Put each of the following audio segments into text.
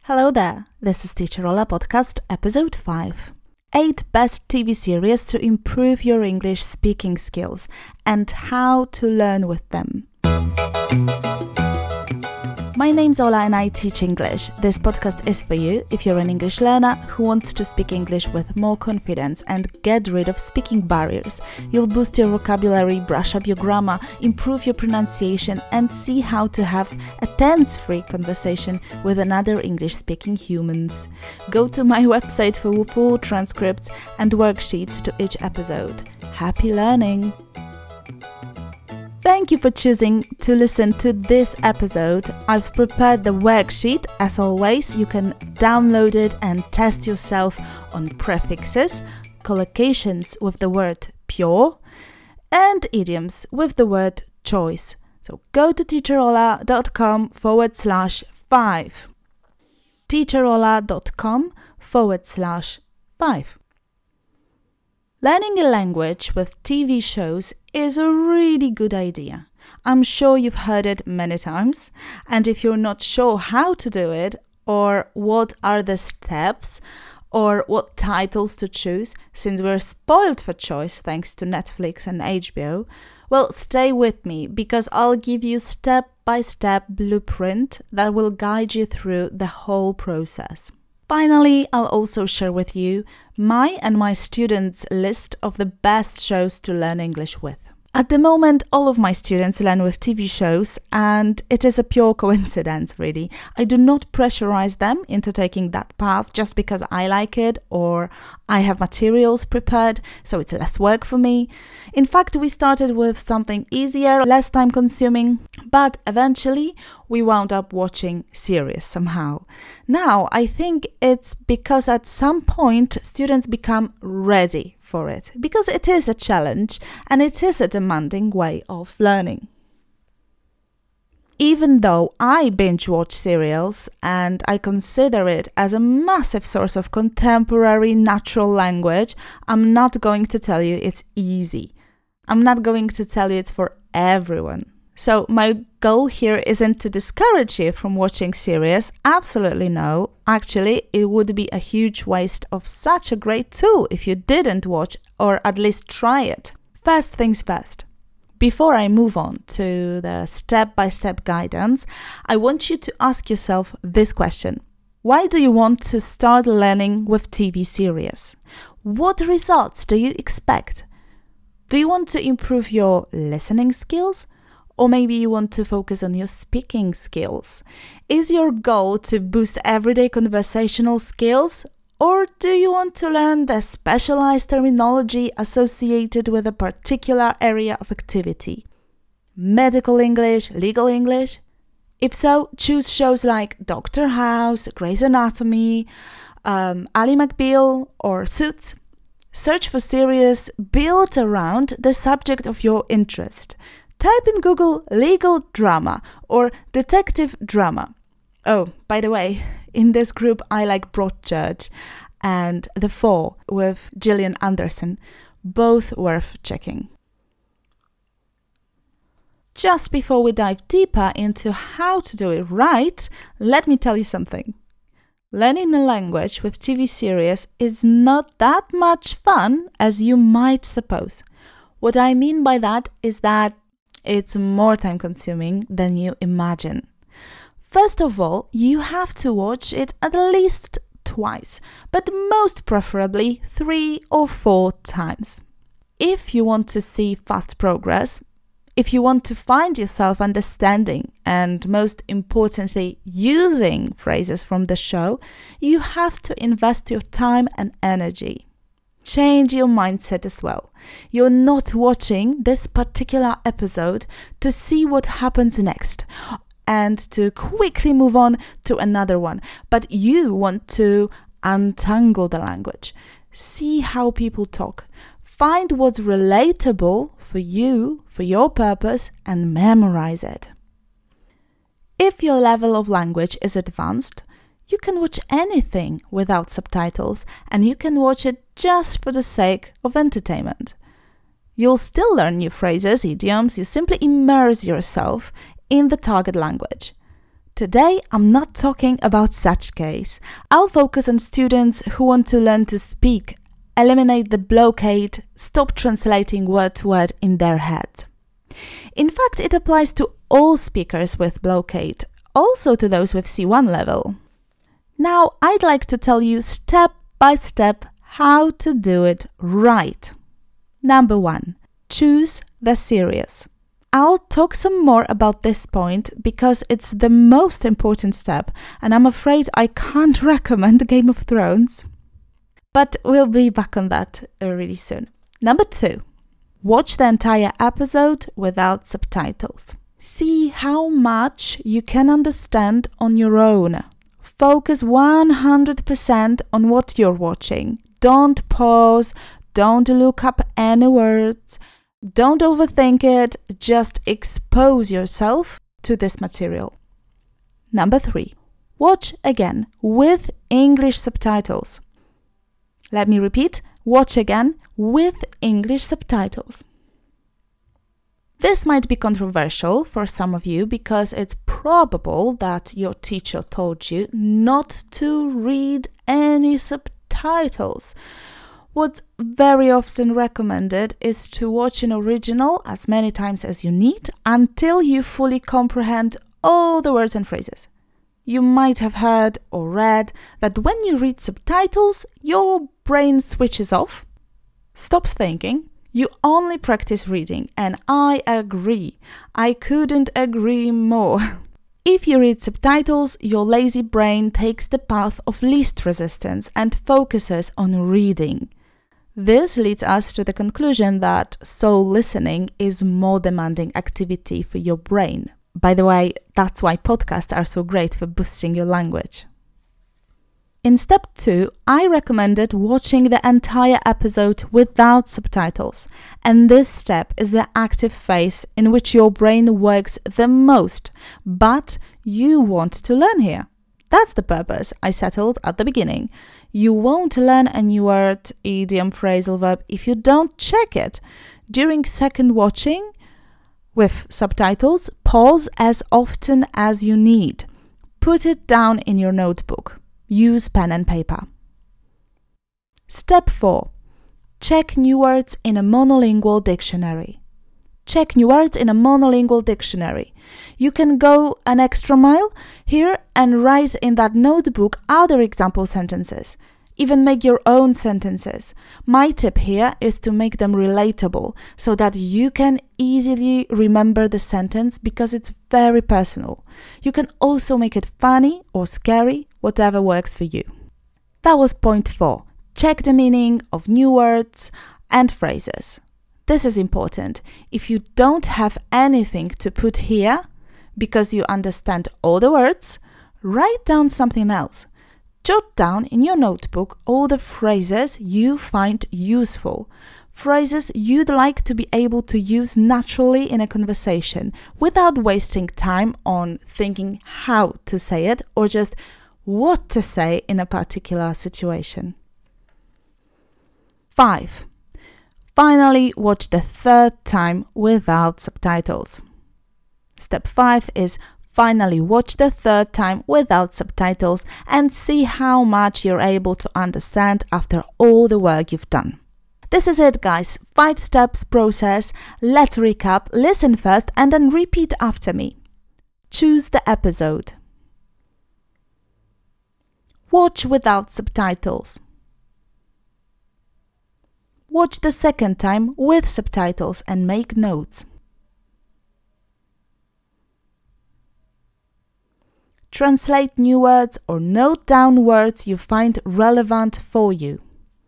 Hello there, this is Teacher Ola Podcast, Episode 5. 8 best TV series to improve your English speaking skills and how to learn with them. My name's Ola and I teach English. This podcast is for you if you're an English learner who wants to speak English with more confidence and get rid of speaking barriers. You'll boost your vocabulary, brush up your grammar, improve your pronunciation, and see how to have a tense-free conversation with another English-speaking humans. Go to my website for full transcripts and worksheets to each episode. Happy learning! Thank you for choosing to listen to this episode. I've prepared the worksheet. As always, you can download it and test yourself on prefixes, collocations with the word pure, and idioms with the word choice. So go to teacherola.com/5. teacherola.com/5. Learning a language with TV shows is a really good idea. I'm sure you've heard it many times, and if you're not sure how to do it, or what are the steps, or what titles to choose, since we're spoiled for choice thanks to Netflix and HBO, well, stay with me because I'll give you step-by-step blueprint that will guide you through the whole process. Finally, I'll also share with you my and my students' list of the best shows to learn English with. At the moment, all of my students learn with TV shows, and it is a pure coincidence, really. I do not pressurize them into taking that path just because I like it or I have materials prepared, so it's less work for me. In fact, we started with something easier, less time-consuming, but eventually we wound up watching series somehow. Now, I think it's because at some point students become ready for it, because it is a challenge and it is a demanding way of learning. Even though I binge watch serials and I consider it as a massive source of contemporary natural language, I'm not going to tell you it's easy. I'm not going to tell you it's for everyone. So my goal here isn't to discourage you from watching series. Absolutely no. Actually, it would be a huge waste of such a great tool if you didn't watch or at least try it. First things first. Before I move on to the step-by-step guidance, I want you to ask yourself this question. Why do you want to start learning with TV series? What results do you expect? Do you want to improve your listening skills? Or maybe you want to focus on your speaking skills. Is your goal to boost everyday conversational skills? Or do you want to learn the specialized terminology associated with a particular area of activity? Medical English, legal English? If so, choose shows like Dr. House, Grey's Anatomy, Ally McBeal, or Suits. Search for series built around the subject of your interest. Type in Google legal drama or detective drama. Oh, by the way, in this group I like Broadchurch and The Fall with Gillian Anderson, both worth checking. Just before we dive deeper into how to do it right, let me tell you something. Learning a language with TV series is not that much fun as you might suppose. What I mean by that is that it's more time-consuming than you imagine. First of all, you have to watch it at least twice, but most preferably 3 or 4 times. If you want to see fast progress, if you want to find yourself understanding and most importantly using phrases from the show, you have to invest your time and energy. Change your mindset as well. You're not watching this particular episode to see what happens next and to quickly move on to another one, but you want to untangle the language, see how people talk, find what's relatable for you, for your purpose, and memorize it. If your level of language is advanced, you can watch anything without subtitles, and you can watch it just for the sake of entertainment. You'll still learn new phrases, idioms, you simply immerse yourself in the target language. Today, I'm not talking about such case. I'll focus on students who want to learn to speak, eliminate the blockade, stop translating word to word in their head. In fact, it applies to all speakers with blockade, also to those with C1 level. Now, I'd like to tell you step by step how to do it right. Number 1. Choose the series. I'll talk some more about this point because it's the most important step, and I'm afraid I can't recommend Game of Thrones. But we'll be back on that really soon. Number 2. Watch the entire episode without subtitles. See how much you can understand on your own. Focus 100% on what you're watching. Don't pause, don't look up any words, don't overthink it, just expose yourself to this material. Number 3. Watch again with English subtitles. Let me repeat. Watch again with English subtitles. This might be controversial for some of you because it's probable that your teacher told you not to read any subtitles. What's very often recommended is to watch an original as many times as you need until you fully comprehend all the words and phrases. You might have heard or read that when you read subtitles, your brain switches off, stops thinking, you only practice reading, and I agree. I couldn't agree more. If you read subtitles, your lazy brain takes the path of least resistance and focuses on reading. This leads us to the conclusion that soul listening is more demanding activity for your brain. By the way, that's why podcasts are so great for boosting your language. In step 2, I recommended watching the entire episode without subtitles, and this step is the active phase in which your brain works the most, but you want to learn here. That's the purpose I settled at the beginning. You won't learn a new word, idiom, phrasal verb if you don't check it. During second watching, with subtitles, pause as often as you need. Put it down in your notebook. Use pen and paper. Step 4. Check new words in a monolingual dictionary. Check new words in a monolingual dictionary. You can go an extra mile here and write in that notebook other example sentences. Even make your own sentences. My tip here is to make them relatable so that you can easily remember the sentence because it's very personal. You can also make it funny or scary, whatever works for you. That was point 4. Check the meaning of new words and phrases. This is important. If you don't have anything to put here because you understand all the words, write down something else. Jot down in your notebook all the phrases you find useful, phrases you'd like to be able to use naturally in a conversation without wasting time on thinking how to say it or just what to say in a particular situation. 5. Finally, watch the third time without subtitles. Step 5 is finally watch the third time without subtitles and see how much you're able to understand after all the work you've done. This is it, guys. 5 steps process. Let's recap. Listen first and then repeat after me. Choose the episode. Watch without subtitles. Watch the second time with subtitles and make notes. Translate new words or note down words you find relevant for you.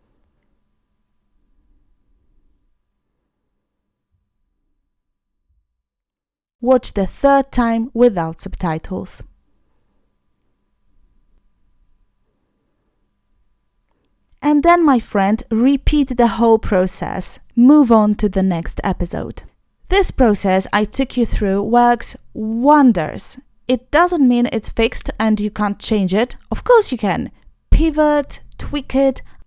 Watch the third time without subtitles. And then, my friend, repeat the whole process. Move on to the next episode. This process I took you through works wonders. It doesn't mean it's fixed and you can't change it. Of course you can. Pivot, tweak it,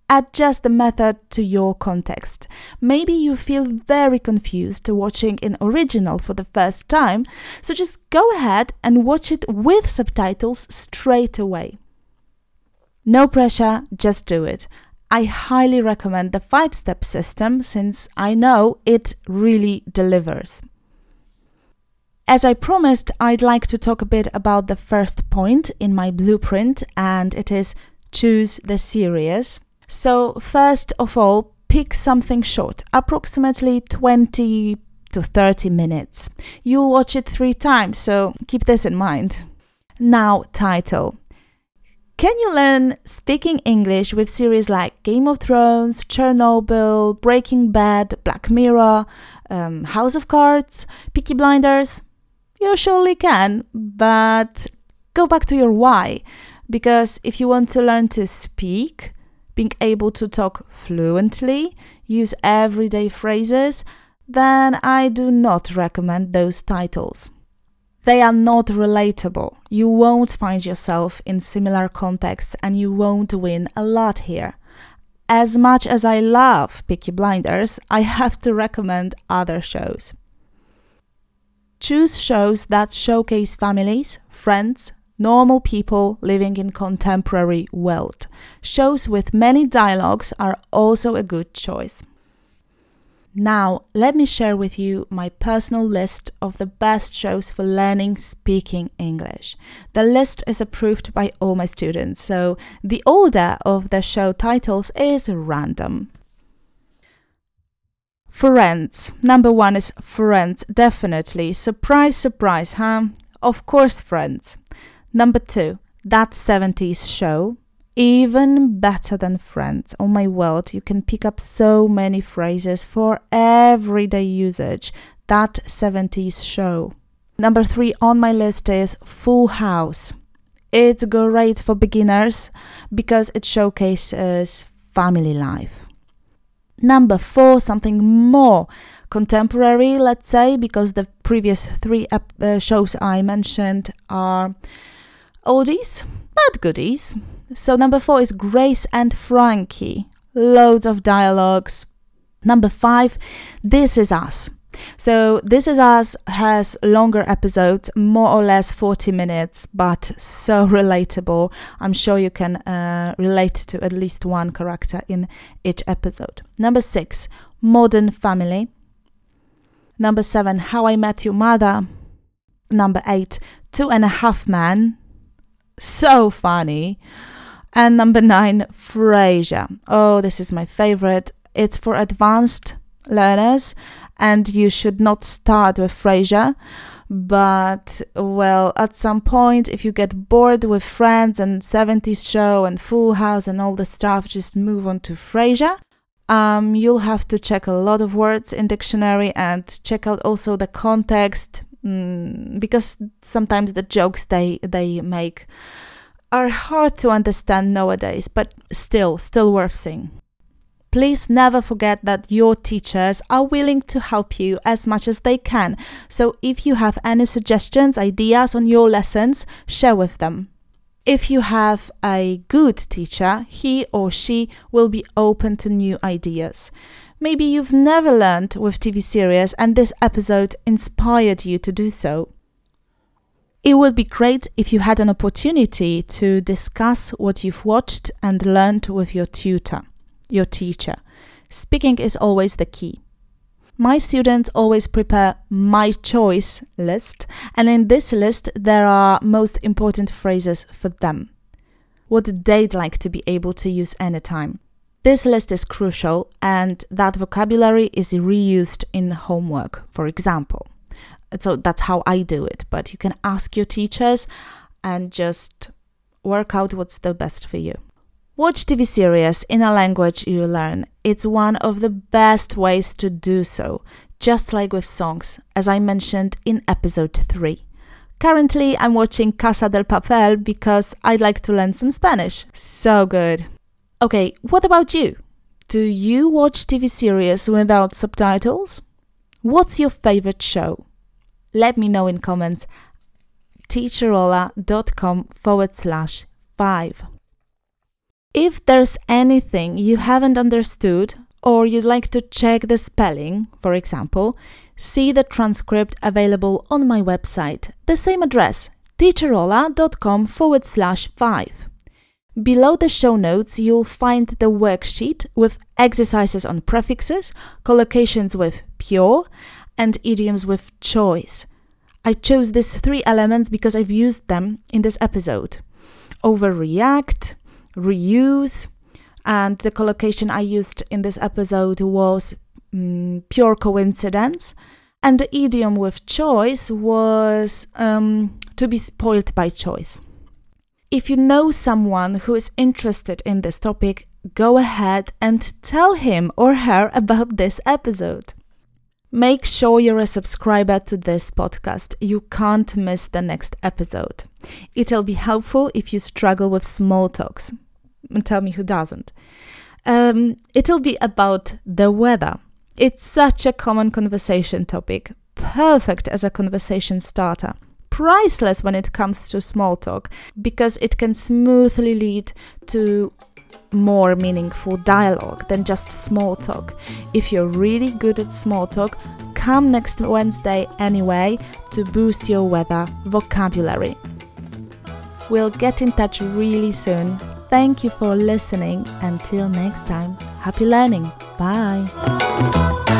Adjust the method to your context. Maybe you feel very confused watching in original for the first time, so just go ahead and watch it with subtitles straight away. No pressure, just do it. I highly recommend the 5-step system since I know it really delivers. As I promised, I'd like to talk a bit about the first point in my blueprint, and it is choose the series. So first of all, pick something short, approximately 20 to 30 minutes. You'll watch it 3 times, so keep this in mind. Now, title. Can you learn speaking English with series like Game of Thrones, Chernobyl, Breaking Bad, Black Mirror, House of Cards, Peaky Blinders? You surely can, but go back to your why. Because if you want to learn to speak, being able to talk fluently, use everyday phrases, then I do not recommend those titles. They are not relatable. You won't find yourself in similar contexts and you won't win a lot here. As much as I love Peaky Blinders, I have to recommend other shows. Choose shows that showcase families, friends, normal people living in contemporary world. Shows with many dialogues are also a good choice. Now, let me share with you my personal list of the best shows for learning speaking English. The list is approved by all my students, so the order of the show titles is random. Friends. Number 1 is Friends, definitely. Surprise, surprise, huh? Of course, Friends. Number 2, That 70s Show. Even better than Friends. Oh my word, you can pick up so many phrases for everyday usage. That 70s Show. Number 3 on my list is Full House. It's great for beginners because it showcases family life. Number 4, something more contemporary, let's say, because the previous 3 shows I mentioned are oldies, but goodies. So number 4 is Grace and Frankie. Loads of dialogues. Number 5, This Is Us. So This Is Us has longer episodes, more or less 40 minutes, but so relatable. I'm sure you can relate to at least one character in each episode. Number 6, Modern Family. Number 7, How I Met Your Mother. Number 8, 2.5 Men. So funny. And number 9, Frasier. Oh, this is my favorite. It's for advanced learners and you should not start with Frasier. But, well, at some point, if you get bored with Friends and 70s Show and Full House and all the stuff, just move on to Frasier. You'll have to check a lot of words in dictionary and check out also the context, because sometimes the jokes they make are hard to understand nowadays, but still worth seeing. Please never forget that your teachers are willing to help you as much as they can. So if you have any suggestions, ideas on your lessons, share with them. If you have a good teacher, he or she will be open to new ideas. Maybe you've never learned with TV series and this episode inspired you to do so. It would be great if you had an opportunity to discuss what you've watched and learned with your tutor, your teacher. Speaking is always the key. My students always prepare my choice list, and in this list there are most important phrases for them. What they'd like to be able to use anytime. This list is crucial, and that vocabulary is reused in homework, for example. So that's how I do it, but you can ask your teachers and just work out what's the best for you. Watch TV series in a language you learn. It's one of the best ways to do so, just like with songs, as I mentioned in episode 3. Currently, I'm watching Casa del Papel because I'd like to learn some Spanish. So good. Okay, what about you? Do you watch TV series without subtitles? What's your favorite show? Let me know in comments. teacherola.com/5. If there's anything you haven't understood or you'd like to check the spelling, for example, see the transcript available on my website, the same address, teacherola.com/5. Below the show notes, you'll find the worksheet with exercises on prefixes, collocations with pure, and idioms with choice. I chose these 3 elements because I've used them in this episode. Overreact, reuse, and the collocation I used in this episode was pure coincidence, and the idiom with choice was to be spoiled by choice. If you know someone who is interested in this topic, go ahead and tell him or her about this episode. Make sure you're a subscriber to this podcast. You can't miss the next episode. It'll be helpful if you struggle with small talks. Tell me who doesn't. It'll be about the weather. It's such a common conversation topic, perfect as a conversation starter. Priceless when it comes to small talk, because it can smoothly lead to more meaningful dialogue than just small talk. If you're really good at small talk, come next Wednesday anyway to boost your weather vocabulary. We'll get in touch really soon. Thank you for listening. Until next time, happy learning. Bye.